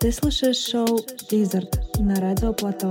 Ты слушаешь шоу «Лизард» на Радио Плато.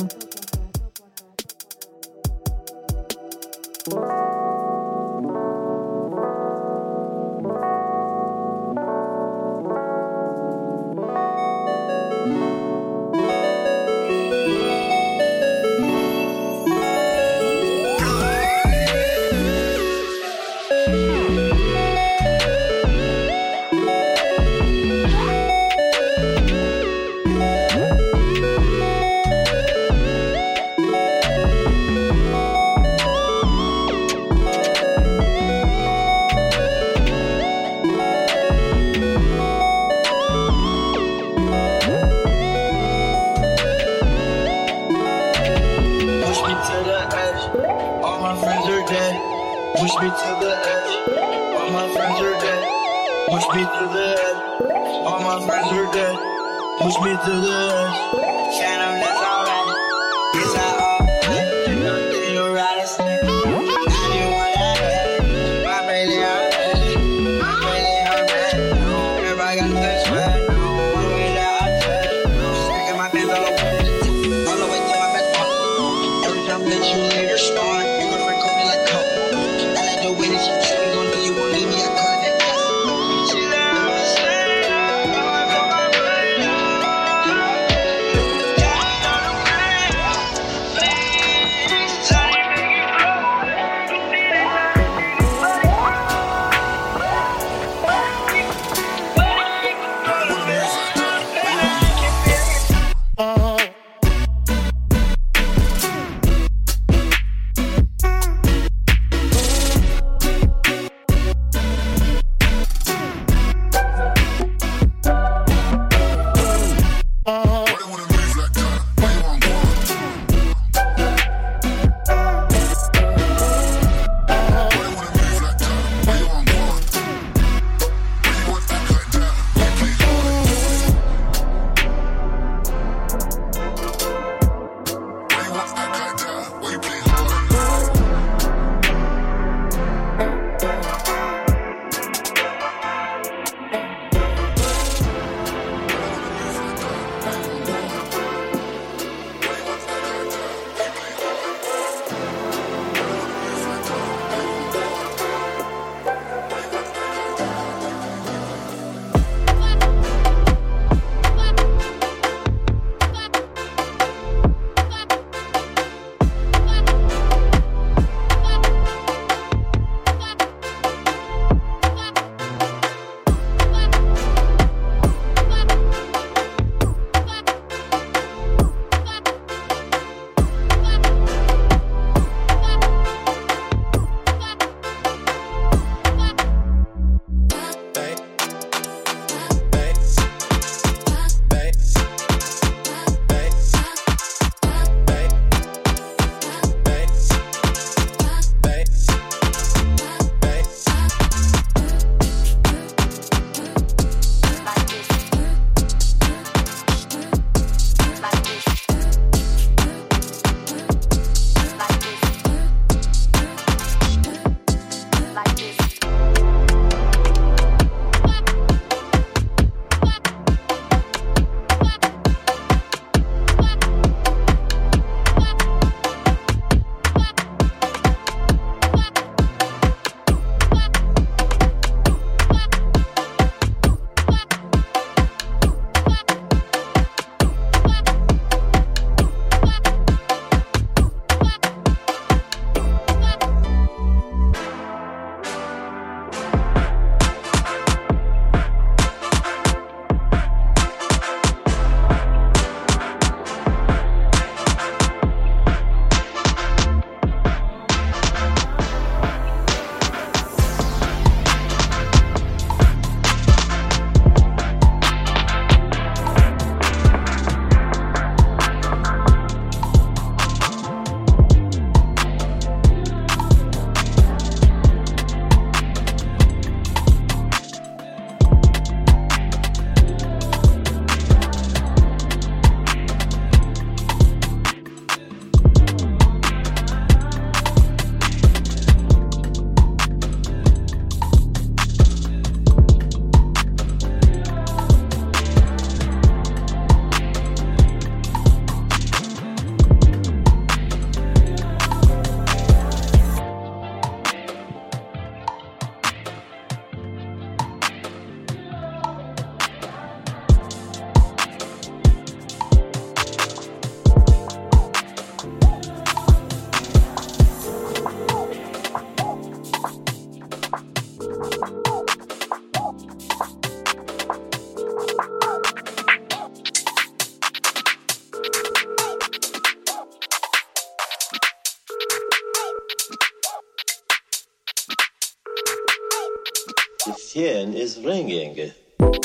phone is ringing.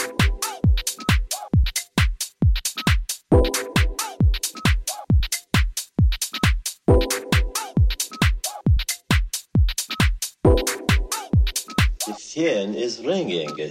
The phone is ringing.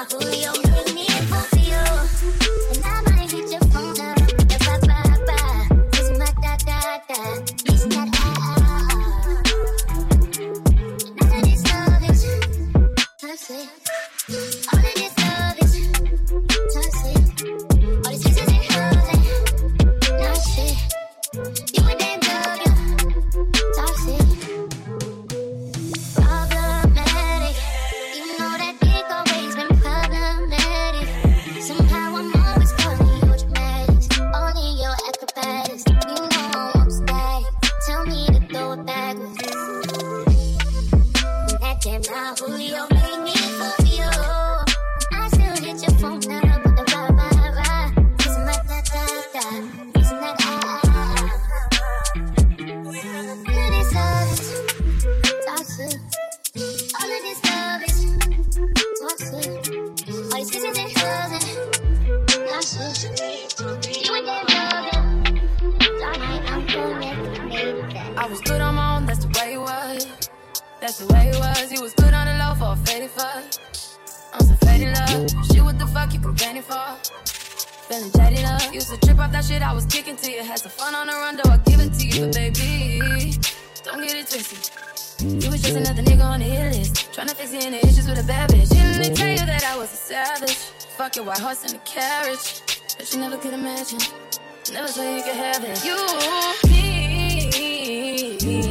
I was good on my own, that's the way it was. That's the way it was. You was good on the low for a faded fuck. I'm so faded love. Shit, what the fuck you complaining for? Feeling jaded up. Used to trip off that shit I was kicking to you. Had some fun on the run, though I give it to you. But baby, don't get it twisted. You was just another nigga on the hit list. Tryna fix any issues with a bad bitch. Didn't tell you that I was a savage. Fuck your white horse and a carriage. But you never could imagine. Never said you could have it. You need me.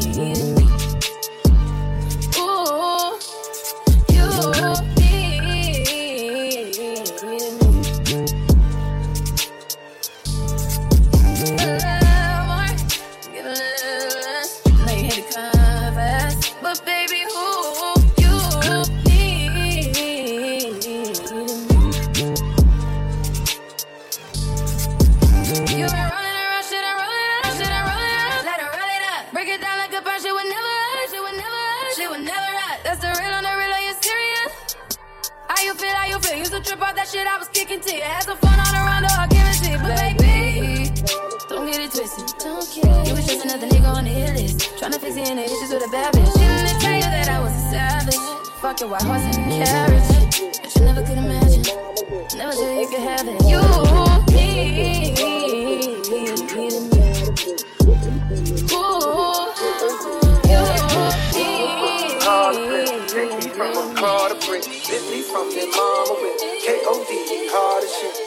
Ooh, you need me. A little more, give a little less. Know you hate to confess, but baby, who you need me. You've been rolling around, shit and rolling around, shit and rolling around. Let her roll it up, break it down like a punch. Shit would never hurt, shit would never hurt, shit would never hurt. That's the real on the real, are you serious? How you feel, how you feel? Used to trip off that shit I was kicking to you. Had some fun on the round, though I give it to you. But baby, don't get it twisted, don't care. You was just another nigga on the hit list. Tryna fix any issues with a bad bitch. Didn't tell you that I was a savage. Fuck your white horse and a carriage. But you never could imagine. Never said you could have it. You need me. Ooh, you Take me from a car to brick. Lift me from your mama with K.O.D. hard as shit.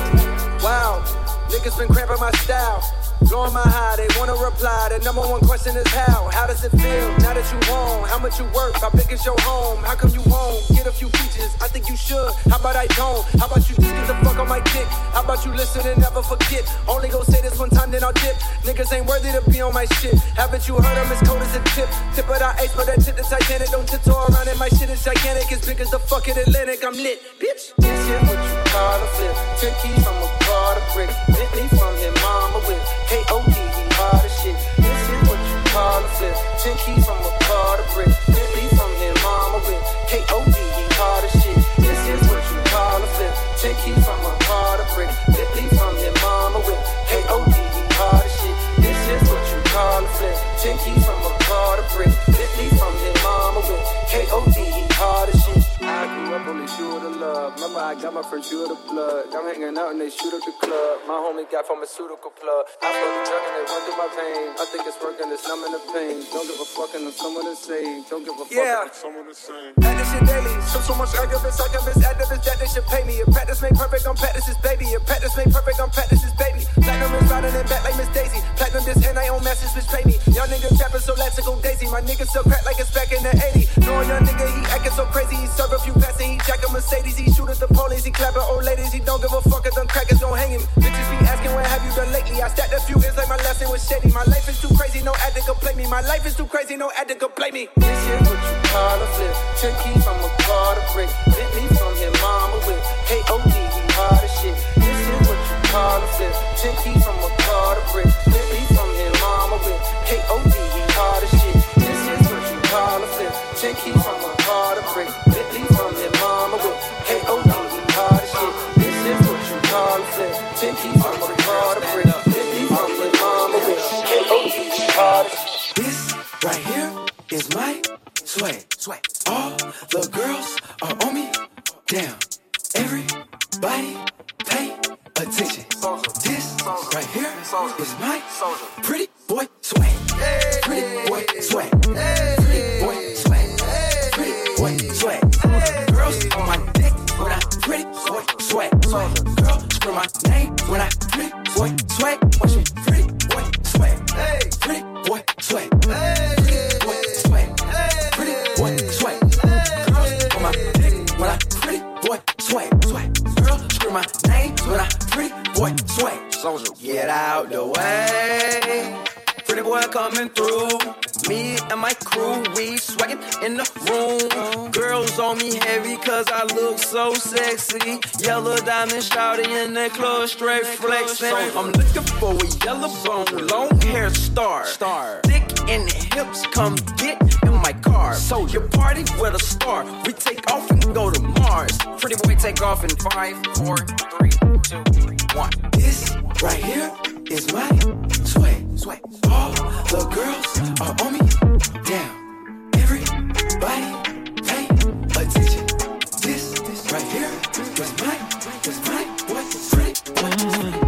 Wow, niggas been cramping my style. Blowing my high, they wanna reply. The number one question is how? How does it feel now that you home? How much you work? How big is your home? How come you home? Get a few features, I think you should. How about I don't? How about you just get the fuck on my dick? How about you listen and never forget? Only go say this one time, then I'll dip. Niggas ain't worthy to be on my shit. Haven't you heard I'm as cold as a tip? Tip of the ice, but that shit the Titanic. Don't tiptoe around it, my shit is gigantic. As big as the fucking Atlantic, I'm lit, bitch. This is what you call a flip. 10 keys from a car to brick. Hit me from your mama with K.O.D. hard as shit. This is what you call a flip. 10 keys from a car to brick. Hit me from your mama with K.O.D. hard as shit. This is what you call a flip. 10 keys from a car to brick. Hit me from your mama with K.O.D. hard as shit. This is what you call a flip. 10 keys from a car to brick. Hit me from your mama with K.O.D. hard as shit. I grew up on the shoe of the love. Remember I got my first shoe of the blood. I'm hanging out and they shoot up the club. My homie got pharmaceutical plug. I feel the drug and they run through my veins. I think it's working, it's numbing the pain. Don't give a fuck and someone to say. Don't give a fuck if someone to say. Add this shit daily. So much activists, activists that they should pay me. If practice made perfect, I'm practice's baby. If practice made perfect, I'm practice's baby. Platinum is riding in back like Miss Daisy. Platinum this and I own masters which pay me. Y'all niggas rapping so let's go Daisy. My niggas sell crack like it's back in the 80s. Knowing young nigga, he acting so crazy. He serve a few passes, he jack a Mercedes. He shoot at the police, he clapping old ladies. He don't give a fuck if them crackers don't hang him. Bitches be asking what have you done lately. I stacked a few ends like my lesson was shady. My life is too crazy, no ad to complain me. My life is too crazy, no ad to complain me. This is what you call a flip. 10 keys from a car to brick. Hit me from your mama with K.O.D. hard as shit. This is what you call a flip. 10 keys from a car to brick. Hit me from your mama with K.O.D. hard as shit. This is what you call a flip. 10 keys from a car to brick. Hit me from your mama with K.O.D. hard as shit. This is what you call a flip. 10 keys from a car to brick. Hit me from your mama with K.O.D. hard as shit. This right here is my swag. All the girls are on me. Damn. Everybody pay attention. This right here is my pretty boy swag. Pretty boy swag. Pretty boy swag. Pretty boy swag. Girls on my dick when I pretty boy swag. Girl scream my name when I pretty boy swag. Watch me pretty boy swag. Pretty boy swag. Pretty boy swag. Pretty boy swag. Girls on my dick when I pretty boy swag. Girl scream my name when I pretty boy swag. Get out the way. Pretty boy coming through. Me and my crew, we swaggin' in the room. Girls on me heavy cause I look so sexy. Yellow diamond shouting in the club, straight flexing. I'm looking for a yellow bone, long hair star. Thick in the hips, come get in my car. So you party with a star. We take off and go to Mars. Pretty boy take off in 5, 4, 3, 2, 1. This right here is my swag. All the girls are on me. Damn, everybody pay attention. This right here is my boy, pretty boy.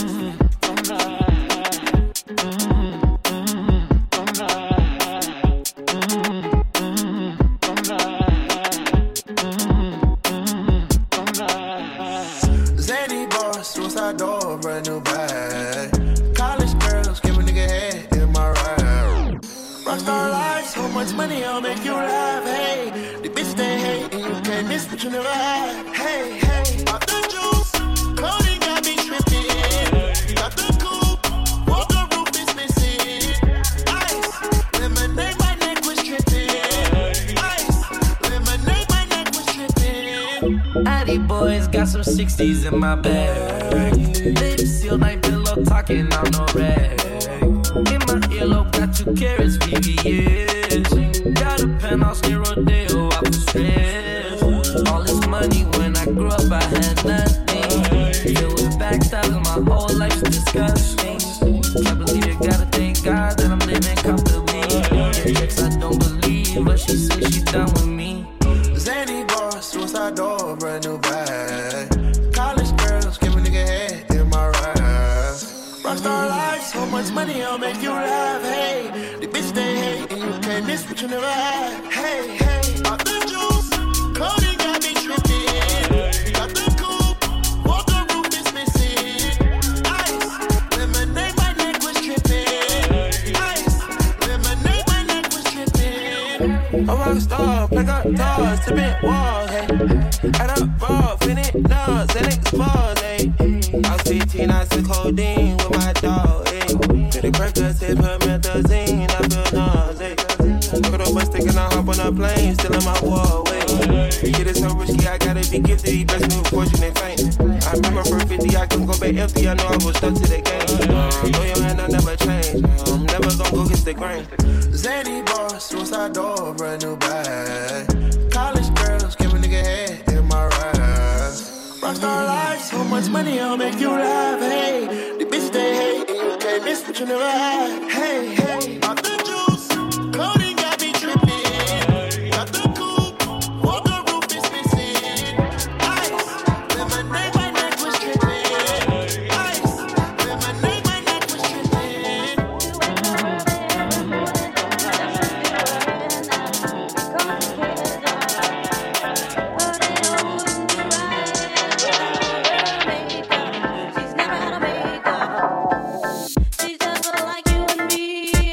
Zany boss, suicide door, brand new bag. College girls, give a nigga head in my ride. Rockstar life, so much money, I'll make you laugh. Hey, the bitch they hate, and you can't miss what you never had. Hey, pop the juice, Cody got me tripping. Got the coupe, walk the roof is missing. Ice, lemonade, my neck was tripping. Ice, lemonade, my neck was tripping. Addy boys got some 60s in my bag. Lips sealed like pillow talking on no rag. In my earlobe got 2 carats, VVS. Got a penthouse near Rodeo, I was stressed. All this money when I grew up, I had nothing. Filled with backstabbing, my whole life's disgusting. Can't believe it, gotta thank God that I'm living comfortably. Yes, I don't believe, but she said she done with me. Zany boss, suicide door, brand new bag. College girls, give a nigga head in my ride. Rockstar life, so much money, I'll make you laugh. Hey, the bitch they hate, and you can't miss what you never had. Hey, pop the juice, Cody got me tripping. Got the coupe, walk the roof is missing. Ice, lemonade, my neck was tripping. Ice, lemonade, my neck was tripping. A rockstar, plug up doors, tipping walls, hey. Add up ball, finish nuts, and expose, hey. I was 15, I took codeine with my dog, hey. To the crackers, they put methazine, I feel nauseous. Look at the bus stick and I hop on a plane, still in my wall, wait. Shit is so risky, I gotta be gifted, best move, fortune and fame. I remember for 50, I couldn't go back empty, I know I was stuck to the game. Throw your hand, I'll never change, I'm never gonna go against the grain. Zany boss, suicide door, brand new bag. College girls, give a nigga head in my ride. Rockstar life, so much money, I'll make you laugh. Hey, the bitch they hate, and you can't miss what you never had. Hey, pop the juice, Cody got me tripping. Got the coupe, walk the roof is missing. Ice, lemonade, my neck was tripping. Ice, lemonade, my neck was tripping. She's just like you and me.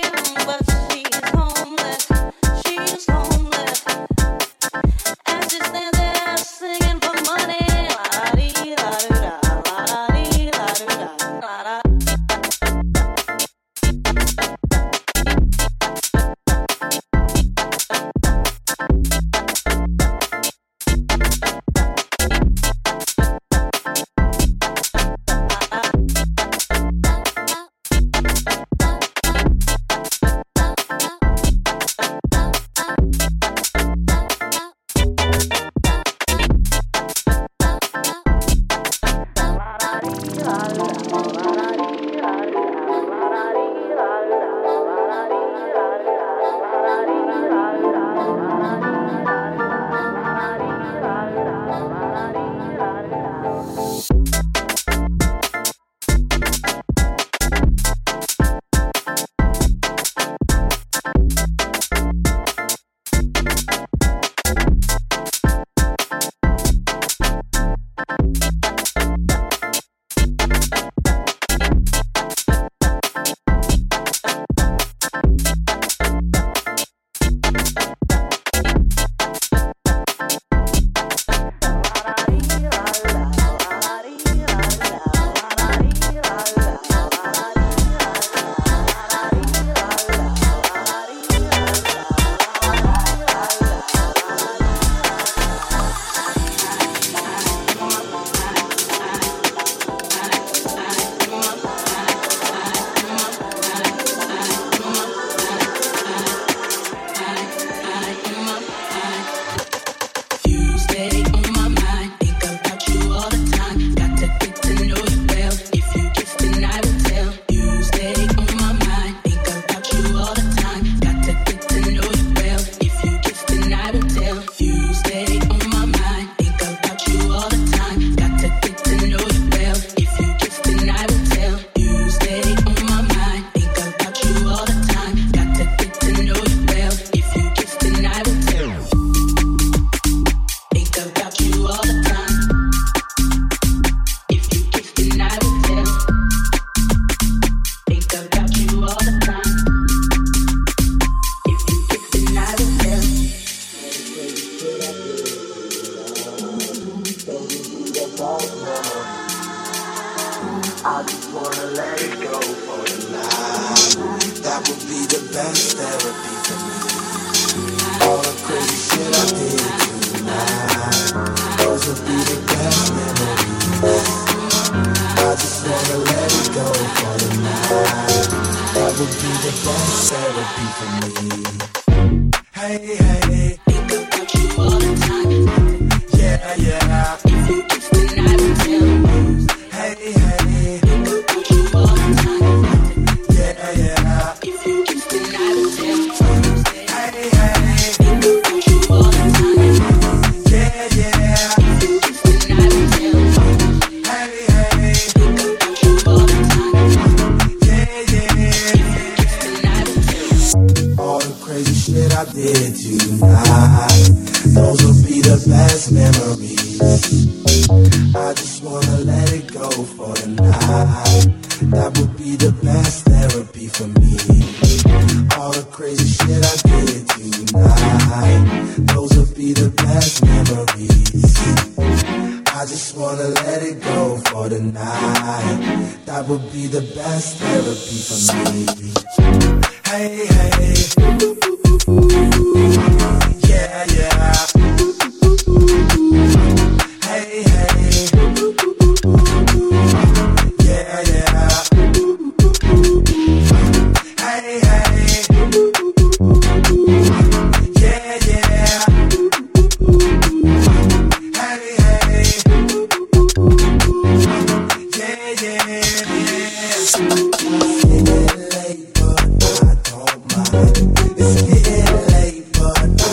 It's getting late, but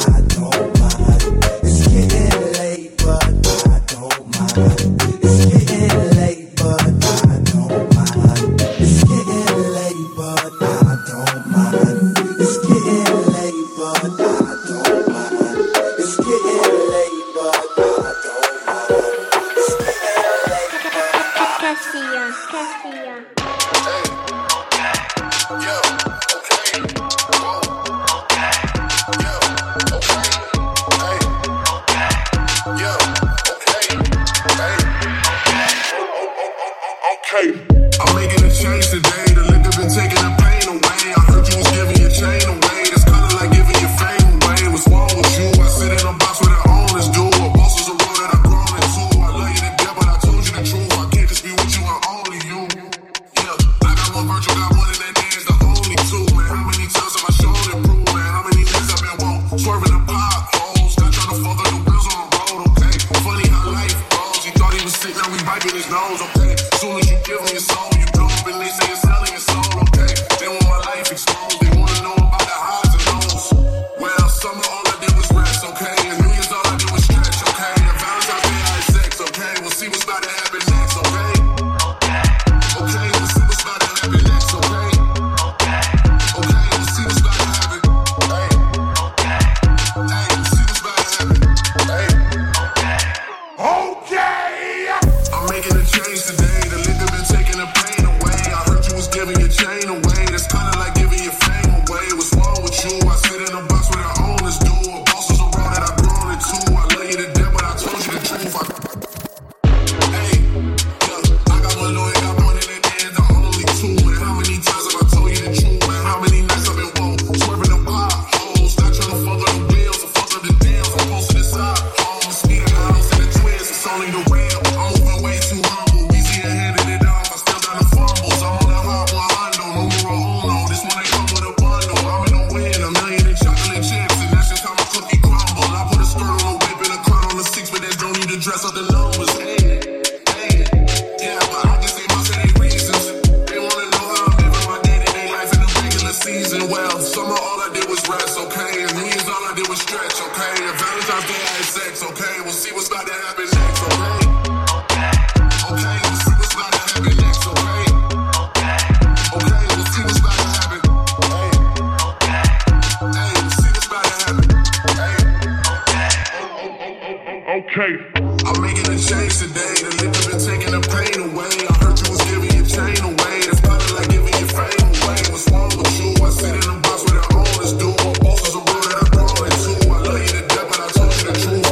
okay? If Valentine's Day I had sex, okay? We'll see what's about to happen next, okay? Okay, we'll see what's about to happen next, okay? Okay, we'll see what's about to happen. Hey, we'll see what's about to happen. Okay. I'm making a change today. The liquor been taking the pain away. I heard you was giving your chain away. That's probably like giving your fame away. What's wrong with you? I sit in the box where the owners do. My boss is a road that I'm going to. I love you to death, but I told you the truth.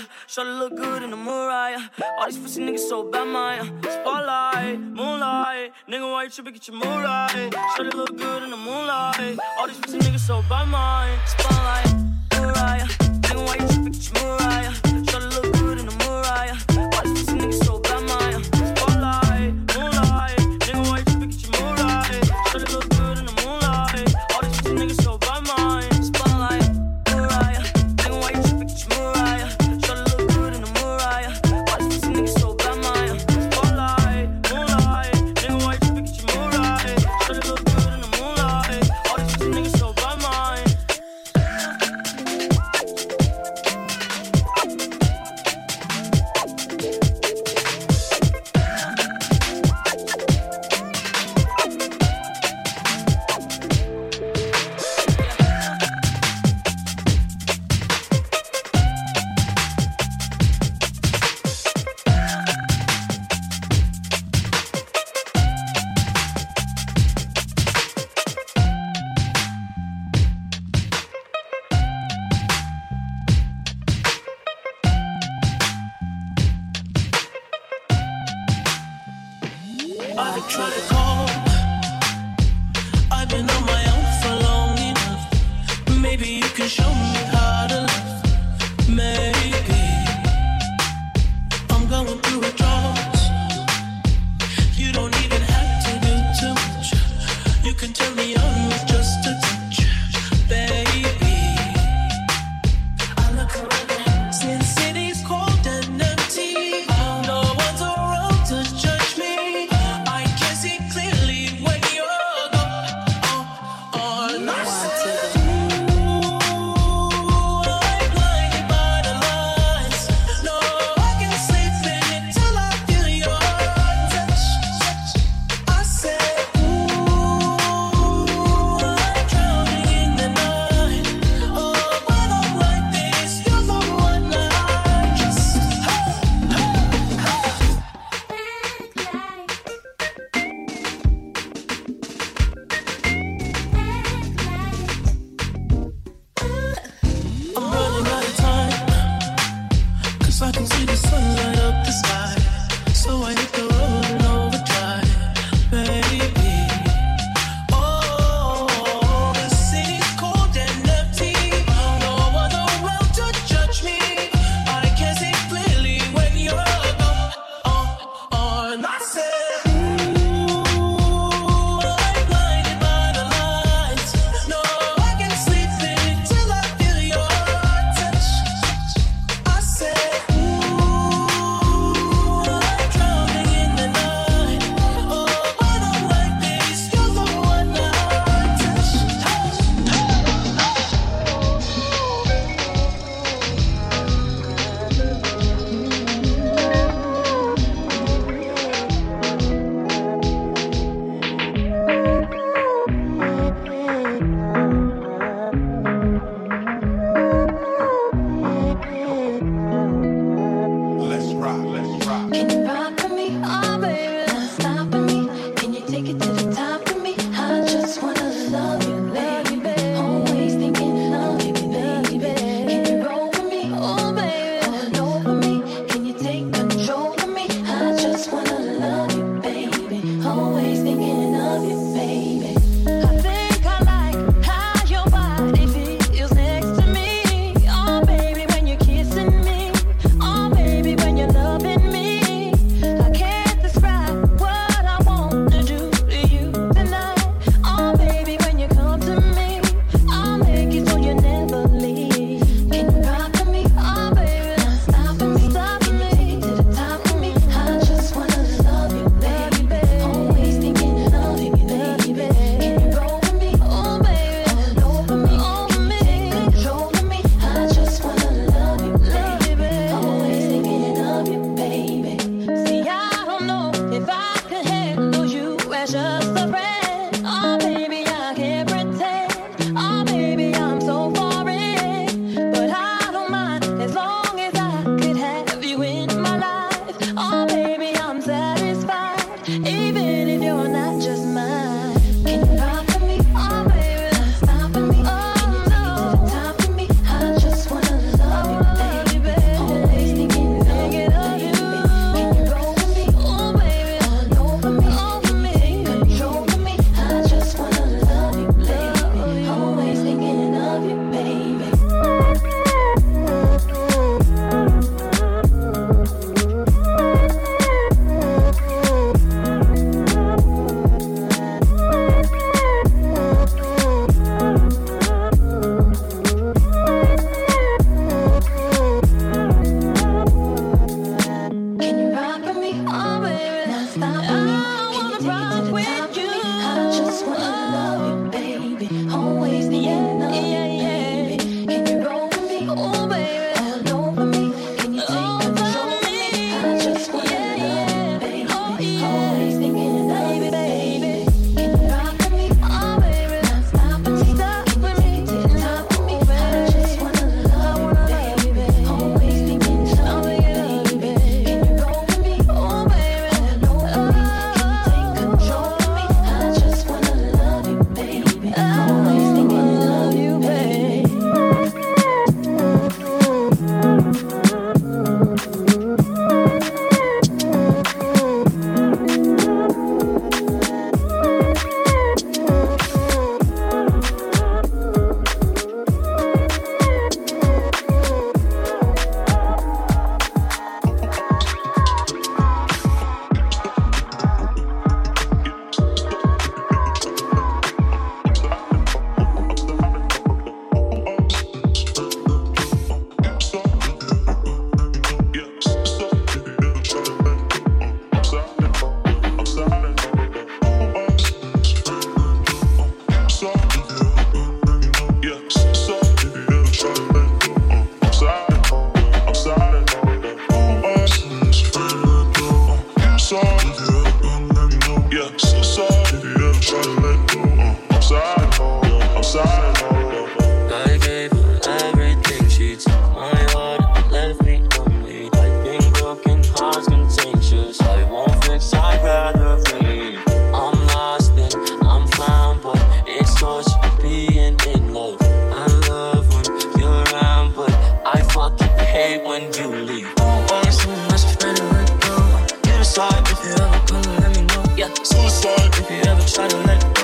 Shawty look good in the Mariah. All these pussy niggas so bad, man. Spotlight, moonlight. Nigga, why you trippin'? Get your mood right. Shawty look good in the moonlight. All these pussy niggas so bad, man. Spotlight, Mariah. Nigga, why you trippin'? Get your mood right. Shawty look good in the Mariah. All these pussy niggas so bad, man. Spotlight, moonlight. Nigga, why you trippin'? Get your mood right. Shawty look good in the moonlight. All these pussy niggas so bad, man. Spotlight, Mariah. Nigga, why you trippin'? Get your mood right. Shawty look good in the Mariah. All these pussy niggas so bad, man. Spotlight, moonlight. Nigga, why you trippin'? Get your mood right. Shawty look good in the moonlight. All these pussy niggas so bad, man. I've been trying to call. I've been on my own for long enough. Maybe you can show me how to love. Maybe I'm going through a drought. You don't even have to do too much. You can turn me on with just a touch, baby. I look around since city's cold and empty. No one's around to judge me. I can see clearly when you're gone. I'm blinded by the lights. No, I can't sleep until I feel your touch. I said, ooh, I'm drowning in the night. Oh, when I'm like this, you're the one I just. I'm running out of time, 'cause I can see the sun light up the sky. So I hit the road in overdrive, baby. Oh, the city's cold and empty. No one around to judge me. I can see clearly when you're gone. And I said, ooh, I'm blinded by the lights. No, I can't sleep until I feel your touch. I said, ooh, I'm drowning in the night. Oh, when I'm like this, you're the one I touch. Let's rock, let's rock. Can you rock with me? Oh, baby, don't stop with me. Can you take it to the top with me? I just wanna love you, baby. Always thinking of you, baby. Can you roll with me? Oh, baby, all over me. Can you take control of me? I just wanna love you, baby. Always thinking of you, baby. I think I like how your body feels next to me. Oh, baby, when you're kissing me. Oh, baby, when you're loving me. I can't describe what I want to do to you tonight. Oh, baby, when you come to me, I'll make it so you never leave. Can you rock with me? Oh, baby, don't stop with me. Can you take it to the top with me? I just wanna love you, baby. Always thinking of you, baby. Can you roll with me? Oh, baby, all over me. Take control of me. I just wanna love you, baby. Always thinking of you, baby. See, I don't know if I could handle you as just a friend. Oh, baby, I can't pretend. Oh, baby, I'm so foreign. But I don't mind as long as I could have you in my life. Oh, baby, I'm satisfied. Even if you're not just mine. Can you rock with me? Oh, baby, don't stop with me. Can you take it to the top with me? I just wanna love you, baby. Always suicide. If you ever try to let